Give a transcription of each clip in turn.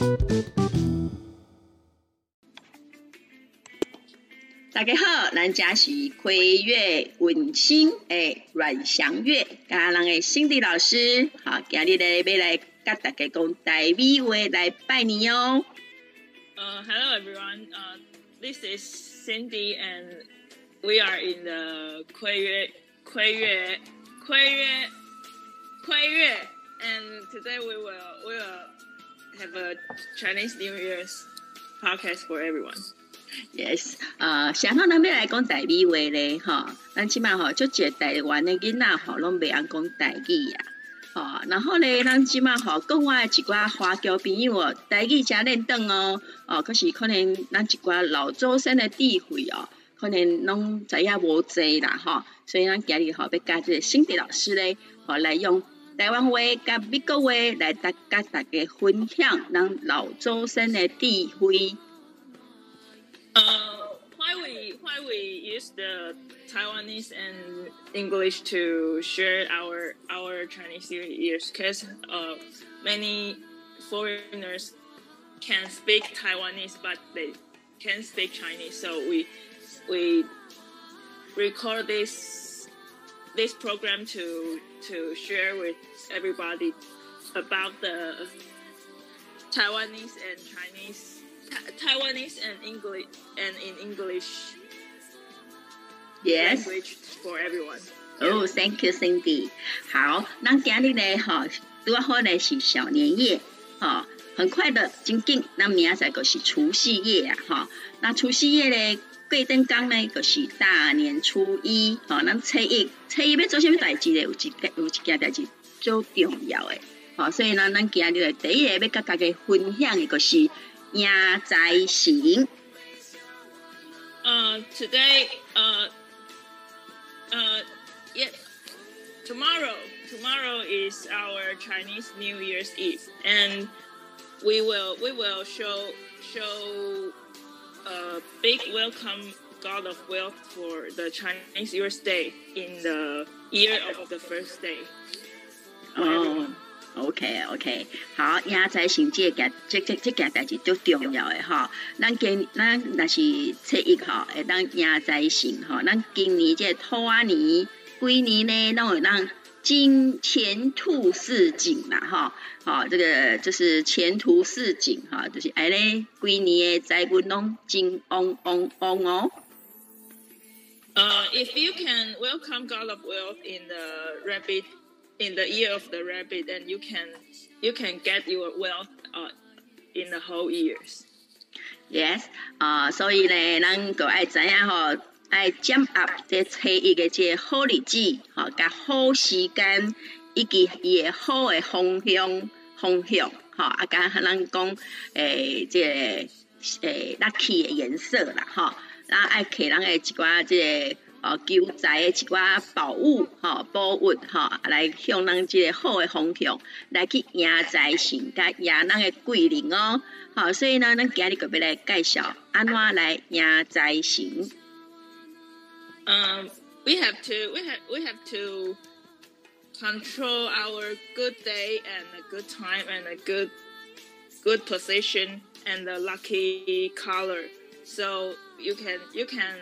大家好，咱家是開月溫馨的阮祥月，甲咱的Cindy老師，好，今日咧要來甲大家講台語話來拜年哦。 Hello everyone. This is Cindy, and we are in the 虧月, and today we will have a Chinese New Year's podcast for everyone. Yes, 想到咱要來講台語話咧，吼，咱即擺吼，足儕台灣的囡仔吼，攏袂曉講台語啊，吼，然後咧，咱即擺吼，國外一寡華僑朋友哦，台語真練轉哦，可是可能咱一寡老祖先的智慧哦，可能攏知影無濟啦，吼，所以咱今日吼要甲這個Cindy老師咧，吼來用台灣話甲美國話來甲大家分享咱老祖先的智慧。 Why we use the Taiwanese and English to share our Chinese New Year's? Because many foreigners can speak Taiwanese, but they can't speak Chinese. So we record this program to share with everybody about the Taiwanese and Chinese. Taiwanese and English and in English yes. language for everyone. Oh, thank you, Cindy. 好，咱今日呢，吼，拄好呢是小年夜，吼，很快的，真緊，咱明仔載就是除夕夜啊，吼，那除夕夜呢，過燈天呢，就是大年初一，吼，咱初一要做什麼代志呢？有一件代志最重要的，吼，所以呢，咱今日的第一個要甲大家分享的就是迎財神。 Today, yeah, tomorrow is our Chinese New Year's Eve, and we will show a big welcome God of Wealth for the Chinese New Year's Day in the year of the first day. OK， 好，迎財神這件代志最重要的吼。咱若是初一吼，會當迎財神吼。咱今年這兔仔年，規年呢，攏會當金錢兔似錦啦吼。這個就是前途似錦哈，就是哎咧，規年的財運攏真旺旺旺哦。 If you can welcome God of Wealth in the year of the rabbit, then you can get your wealth in the whole years. Yes, 所以呢，咱就愛知影吼，愛掌握這初一個這好日子，吼，甲好時間，以及伊個好的方向，吼，甲咱講這lucky 的顏色啦，吼，咱愛摕咱的一寡這個。求財的一寡寶物，寶物，來向咱這個好的方向來去迎財神，甲迎咱的貴人哦。好，所以呢，咱今日就要來介紹安怎來迎財神。 We have to control our good day and a good time and a good position and the lucky color. So you can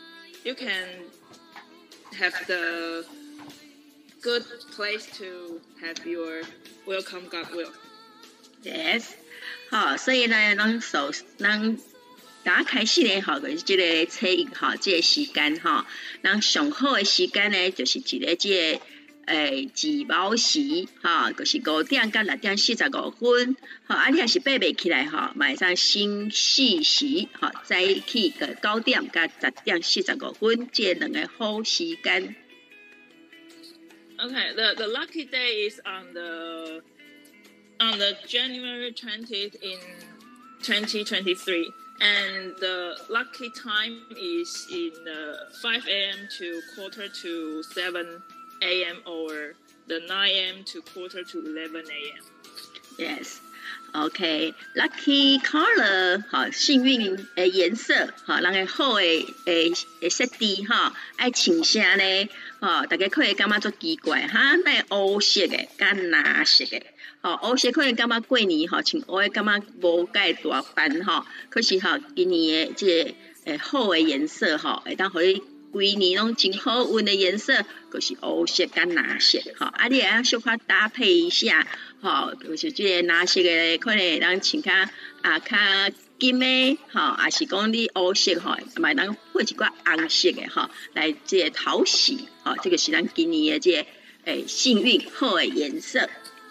have the good place to have your welcome God will. Yes， 好，所以呢，咱打開始呢，吼，就是這個初一吼，這個時間吼，咱上好的時間呢，就是一個這個自卯時，吼，就是5點到6點45分，吼，啊，你若是爬袂起來吼，嘛會使先4時，吼，早起個9點到10點45分，這兩個好時間。 Okay, the lucky day is on the January 20th in 2023, and the lucky time is in 5 a.m. to 6:45 a.m. or the 9 a.m. to 10:45 a.m. Yes. OK，lucky color 好，幸運的顏色，好，人個好的設置哈，愛穿啥呢？大家可能感覺做奇怪哈，那烏色的加藍色的，烏色可能感覺過年哈穿烏的感覺無介大範哈，可是哈今年的這好的顏色哈，會當互你規年攏真好運的顏色，就是烏色加藍色，你會小可搭配一下，就是這個藍色的可能會當穿較金的，還是講你烏色嘛當配一寡紅色的來這個討喜，這個是咱今年的這個幸運好的顏色。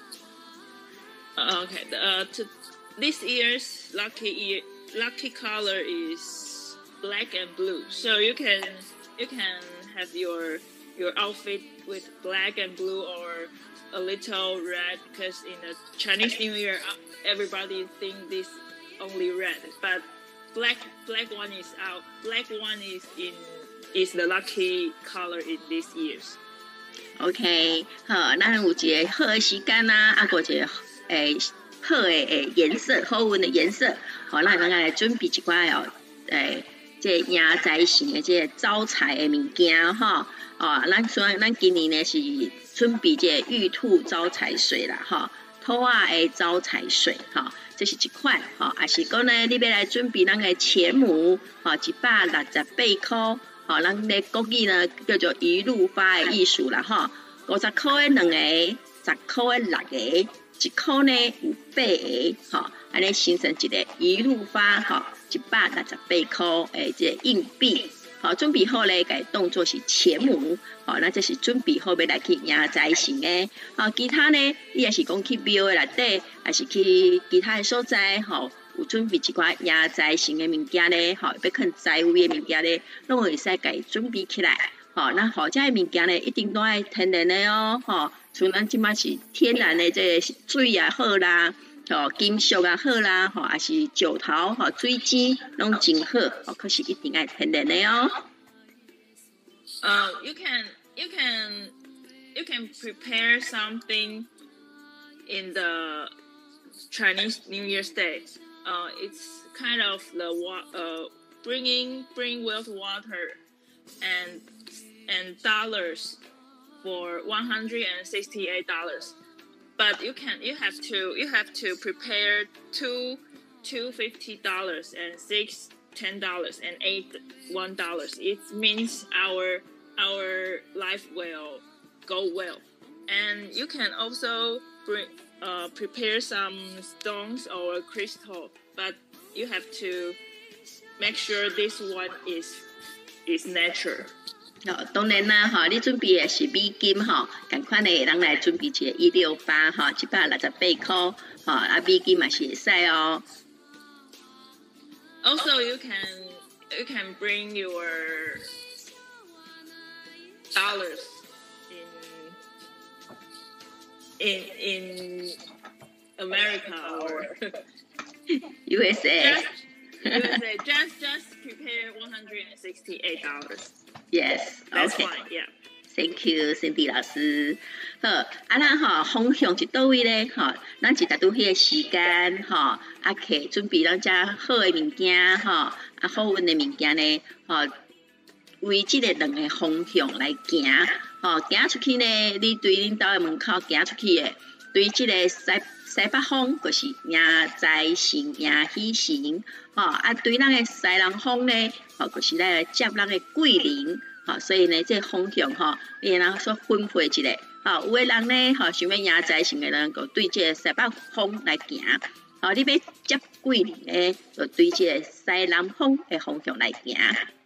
Okay, this year's lucky color is black and blue. So you can have your outfit with black and blue or a little red, because in the Chinese New Year everybody think this only red, but black one is out. Black one is the lucky color in this year's. OK， 好，咱有一個好的時間啊，還有一個好的顏色，好運的顏色，咱能夠來準備一寡這迎財神的這招財的物件咱今年呢是準備這玉兔招財水啦兔仔的招財水這是一款還是講呢你要來準備咱的錢母168塊咱的國語呢叫做一路發的意思啦50塊的2個10塊的6個1塊呢有8個這樣形成一個一路發168塊的這個硬幣準備好咧，該當作是錢母那這是準備好要來去迎財神的其他呢你也是講去廟的內底還是去其他的所在有準備一寡迎財神的物件呢要囥財位的物件呢攏會使該準備起來那這個物件呢一定都愛天然的像咱現在是天然的這個水也好啦金屬也好啦還是石頭水晶攏真好可是一定愛天然的 You can prepare something in the Chinese New Year's Day. It's kind of the bring wealth water and dollars for $168. But you have to prepare two $50 and $6 $10 and $8 $1. It means our life will go well. And you can also prepare some stones or crystal, but you have to make sure this one is natural. 當然啦你準備的是美金同款的人來準備一個168 168塊美金嘛是會使 Also, you can bring your dollars in America or USA. USA. Just prepare $168. Yes, that's okay. Fine. Yeah. Thank you, Cindy 老師。好，咱方向是倒位咧？咱是達到迄個時間去準備咱遮好的物件好運的物件呢為這個兩個方向來行行出去呢，你對恁兜的門口行出去的，對這個西北方就是迎財神迎喜神對咱的西南方呢就是來接咱的貴人所以呢這個方向你能說分配一下有的人呢想要迎財神的人就對這個西北方來行你要接貴人呢就對這個西南方的方向來行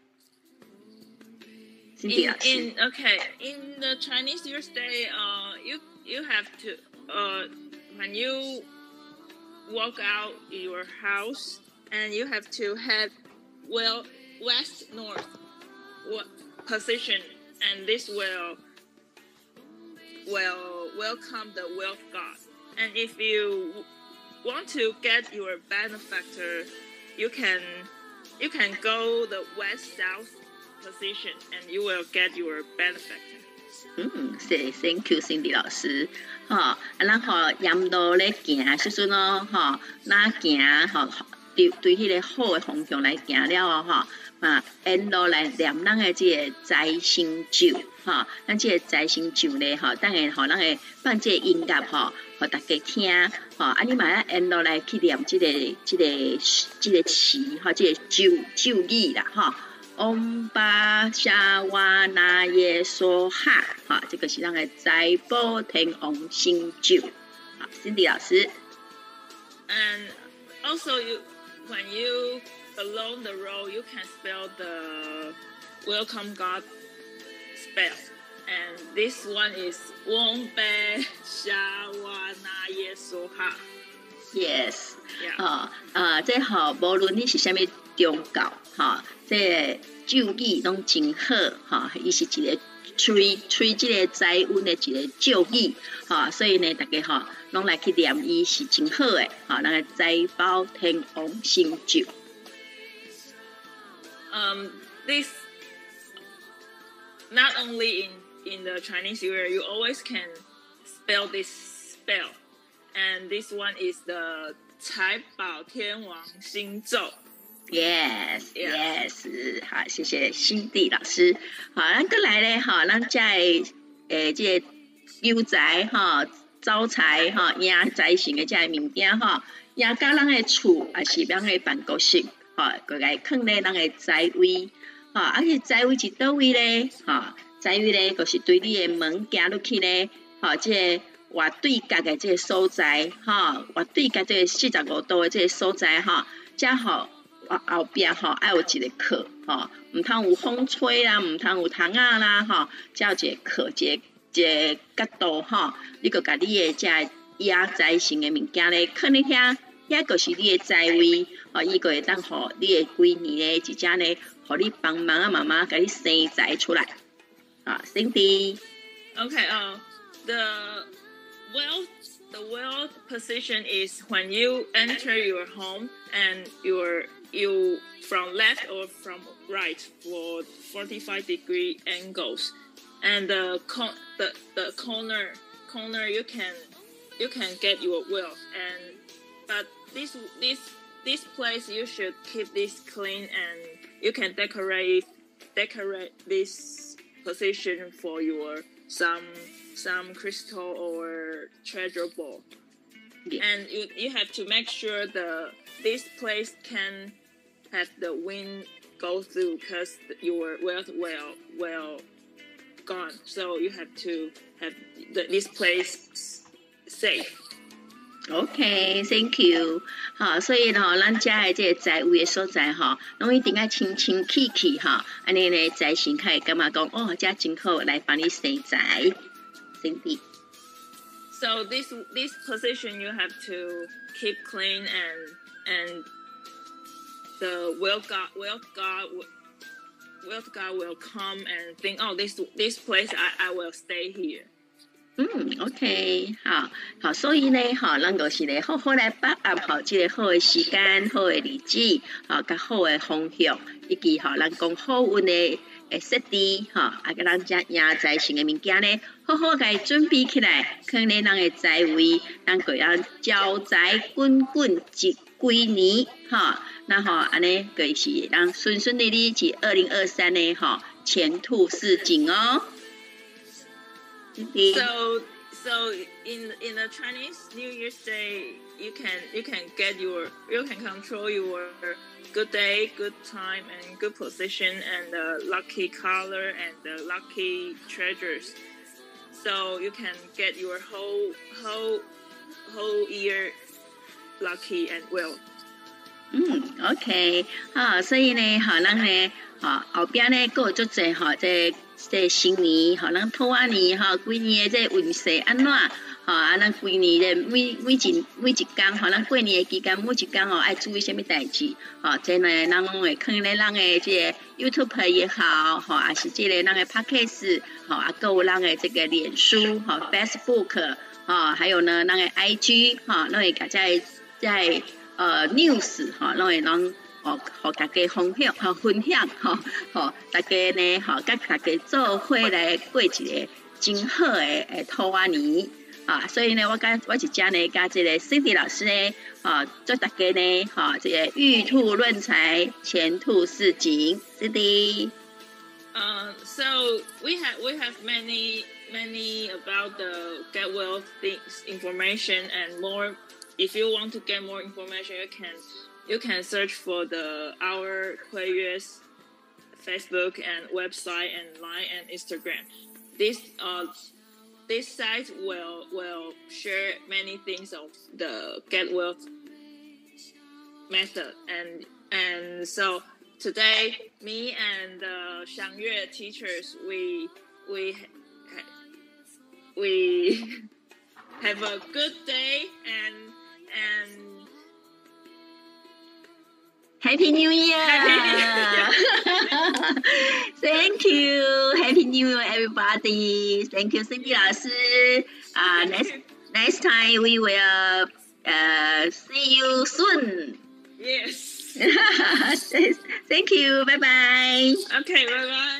In the Chinese New Year's Day, you have to when you walk out your house and you have to head west north position, and this will welcome the wealth god. And if you want to get your benefactor, you can go the west south position and you will get your benefactor. 是 ，Thank you Cindy 老師。咱沿路咧行時陣哦，咱行對迄個好的方向來行了哦，沿路來念咱的這個財神咒，咱這個財神咒咧，等下咱會放這個音樂，互大家聽，你嘛要沿路來去念這個詞，這個咒語啦，嗡巴夏瓦那耶梭哈，這個是咱的財寶天王神咒。Cindy 老師。 And also when you along the road, you can spell the welcome God spell. And this one is Wong Be Sha Wa Na Ye So Ha. Yes. Yeah. 這無論你是啥物宗教，這咒語攏真好，伊是一個吹這個財運的一個咒語，所以呢，大家攏來去念伊是真好的，咱個財寶天王神咒。 This not only in the Chinese New Year, you always can spell this spell, and this one is the 財寶天王神咒。 Yes， 好，謝謝Cindy老師。好，咱過來咧，咱在這個求財招財贏財神的這個物件贏到咱的厝，也是咱的辦公室，過來放咧咱的財位，且財位是倒位咧？財位咧，就是對你的門行入去咧，這個外對角的這個所在，外對角這個45度的這個所在，才後邊愛有一個殼，唔通有風吹啦，唔通有蟲仔啦，才有一個殼，一個角度，你個甲你的這壓財神的物件咧，放咧遐，遐個是你的財位，伊個會當互你的規年咧，真正咧，互你幫忙啊，媽媽甲你生財出來。Cindy。 Okay. The wealth position is when you enter your home and you from left or from right for 45-degree angles, and the corner you can get your wealth, but this place you should keep this clean, and you can decorate this position for your some crystal or treasure ball. Yeah. And you have to make sure this place can have the wind go through, because your wealth will gone. So you have to have this place safe. OK, thank you. 所以咱家的這個財位的所在攏一定要清清氣氣安尼呢，財神才會感覺講這真好，來幫你生財。Cindy. So this position you have to keep clean, and the wealth God will come and think, oh, this place I will stay here. OK， 好，所以呢，咱就是咧好好來把握這個好的時間、好的日子，甲好的方向，以及咱講好運的設置，甲咱遮贏財神的物件呢，好好甲伊準備起來，放咧咱的財位，咱個樣招財滾滾一規年，那安尼就是咱順順利利至2023呢，前途似錦哦。 So in the Chinese New Year's Day, you can control your good day, good time, and good position, and the lucky color and the lucky treasures. So you can get your whole year lucky and well. OK， 所以呢，咱呢，後邊呢，還有足濟這新年，咱兔仔年，規年的這運勢安怎？咱規年的每一天，咱過年的期間，每一天愛注意什麼代誌？這呢，咱攏會放咧咱的這個 YouTube 也好，還是這個咱的 Podcast，還有咱的這個臉書，Facebook，還有呢，咱的 IG，咱會甲在news，咱會互大家分享，大家呢，甲大家做伙來過一個真好的圖案呢。所以呢，我真呢，跟这個 Cindy 老師呢，祝大家呢，這個玉兔論財，前途似錦。Cindy。 So we have many about the get wealth things information and more. If you want to get more information, you can search for our 會約 Facebook and website and Line and Instagram. This site will share many things of the get wealth method and so today me and the Xiangyue teachers we have a good day and Happy New Year! Thank you. Happy New Year, everybody. Thank you, Cindy 老師。Next time we will see you soon. Yes. Thank you. Bye bye. Okay. Bye bye.